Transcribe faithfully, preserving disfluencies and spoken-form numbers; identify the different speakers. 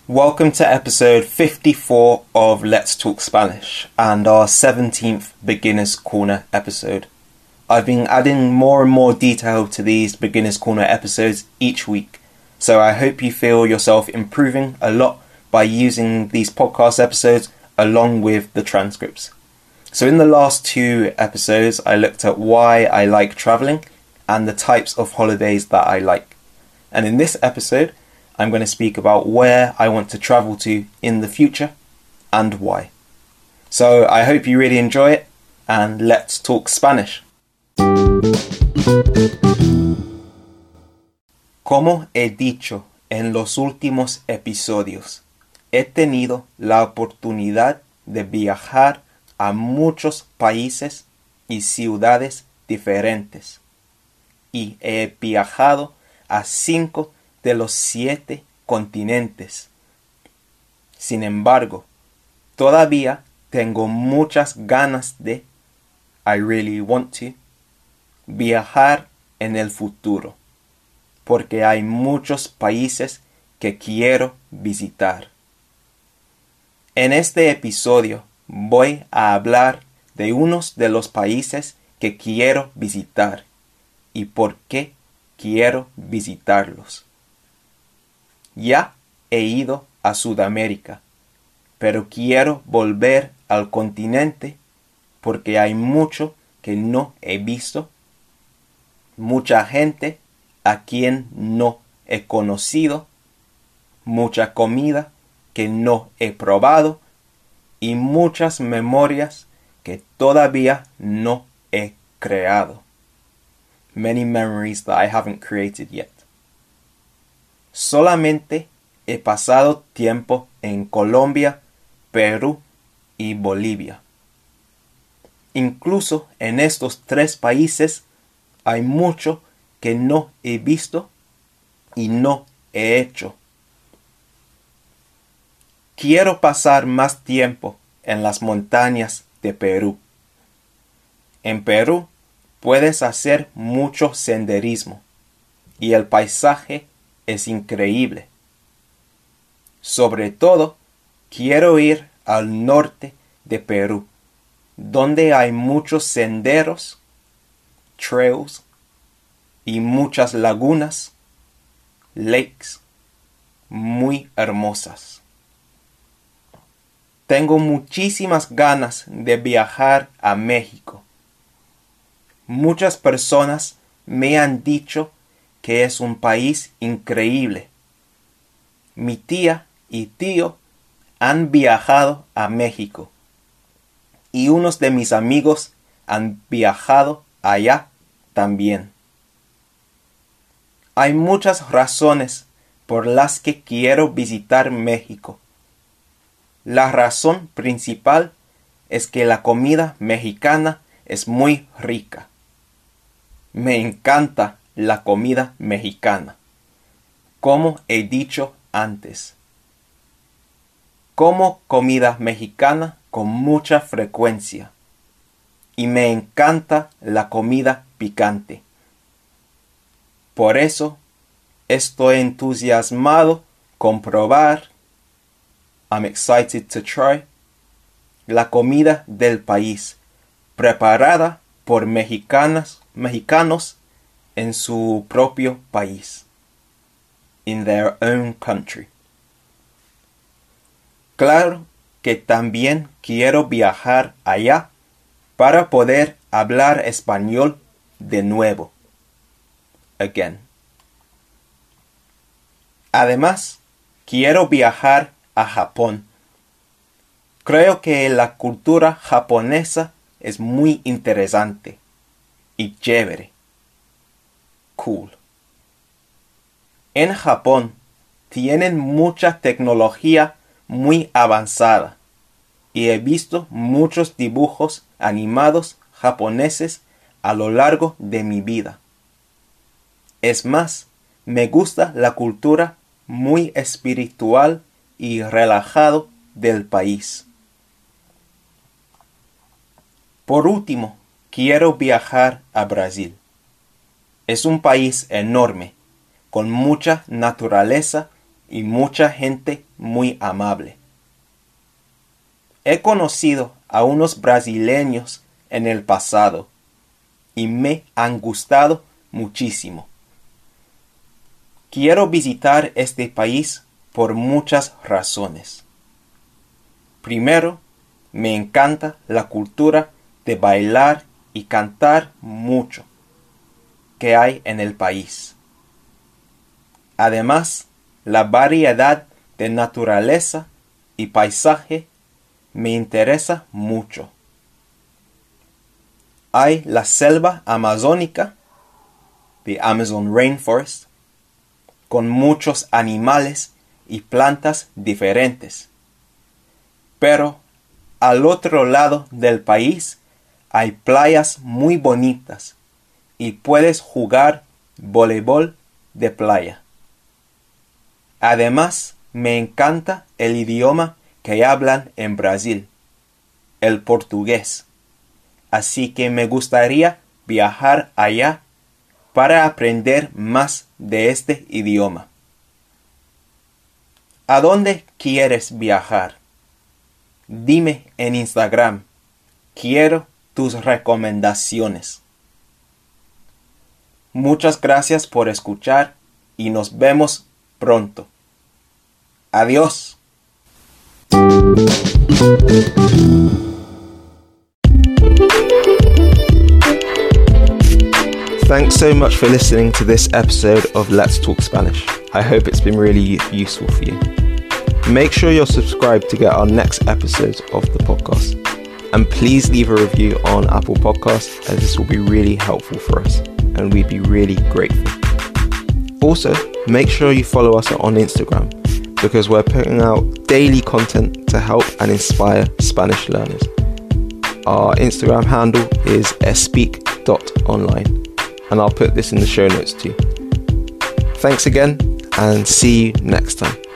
Speaker 1: Welcome to episode fifty-four of Let's Talk Spanish and our seventeenth Beginner's Corner episode. I've been adding more and more detail to these Beginner's Corner episodes each week, so I hope you feel yourself improving a lot by using these podcast episodes along with the transcripts. So in the last two episodes, I looked at why I like traveling and the types of holidays that I like. And in this episode, I'm going to speak about where I want to travel to in the future and why. So I hope you really enjoy it, and let's talk Spanish. Como he dicho en los últimos episodios, he tenido la oportunidad de viajar a muchos países y ciudades diferentes, y he viajado a cinco de los siete continentes. Sin embargo, todavía tengo muchas ganas de, I really want to, viajar en el futuro, porque hay muchos países que quiero visitar. En este episodio voy a hablar de unos de los países que quiero visitar y por qué quiero visitarlos. Ya he ido a Sudamérica, pero quiero volver al continente porque hay mucho que no he visto, mucha gente a quien no he conocido, mucha comida que no he probado y muchas memorias que todavía no he creado. Many memories that I haven't created yet. Solamente he pasado tiempo en Colombia, Perú y Bolivia. Incluso en estos tres países hay mucho que no he visto y no he hecho. Quiero pasar más tiempo en las montañas de Perú. En Perú puedes hacer mucho senderismo y el paisaje es increíble. Sobre todo, quiero ir al norte de Perú, donde hay muchos senderos, trails y muchas lagunas, lakes, muy hermosas. Tengo muchísimas ganas de viajar a México. Muchas personas me han dicho que es un país increíble. Mi tía y tío han viajado a México y unos de mis amigos han viajado allá también. Hay muchas razones por las que quiero visitar México. La razón principal es que la comida mexicana es muy rica. Me encanta la comida mexicana, como he dicho antes. Como comida mexicana con mucha frecuencia y me encanta la comida picante. Por eso estoy entusiasmado con probar, I'm excited to try, la comida del país, preparada por mexicanas, mexicanos en su propio país, in their own country. Claro que también quiero viajar allá para poder hablar español de nuevo. Again. Además, quiero viajar a Japón. Creo que la cultura japonesa es muy interesante y chévere. Cool. En Japón tienen mucha tecnología muy avanzada y he visto muchos dibujos animados japoneses a lo largo de mi vida. Es más, me gusta la cultura muy espiritual y relajado del país. Por último, quiero viajar a Brasil. Es un país enorme, con mucha naturaleza y mucha gente muy amable. He conocido a unos brasileños en el pasado y me han gustado muchísimo. Quiero visitar este país por muchas razones. Primero, me encanta la cultura de bailar y cantar mucho que hay en el país. Además, la variedad de naturaleza y paisaje me interesa mucho. Hay la selva amazónica, the Amazon Rainforest, con muchos animales y plantas diferentes. Pero al otro lado del país hay playas muy bonitas y puedes jugar voleibol de playa. Además, me encanta el idioma que hablan en Brasil, el portugués. Así que me gustaría viajar allá para aprender más de este idioma. ¿A dónde quieres viajar? Dime en Instagram. Quiero tus recomendaciones. Muchas gracias por escuchar y nos vemos pronto. Adiós. Thanks so much for listening to this episode of Let's Talk Spanish. I hope it's been really useful for you. Make sure you're subscribed to get our next episodes of the podcast. And please leave a review on Apple Podcasts, as this will be really helpful for us and we'd be really grateful. Also, make sure you follow us on Instagram, because we're putting out daily content to help and inspire Spanish learners. Our Instagram handle is espeak dot online, and I'll put this in the show notes too. Thanks again, and see you next time.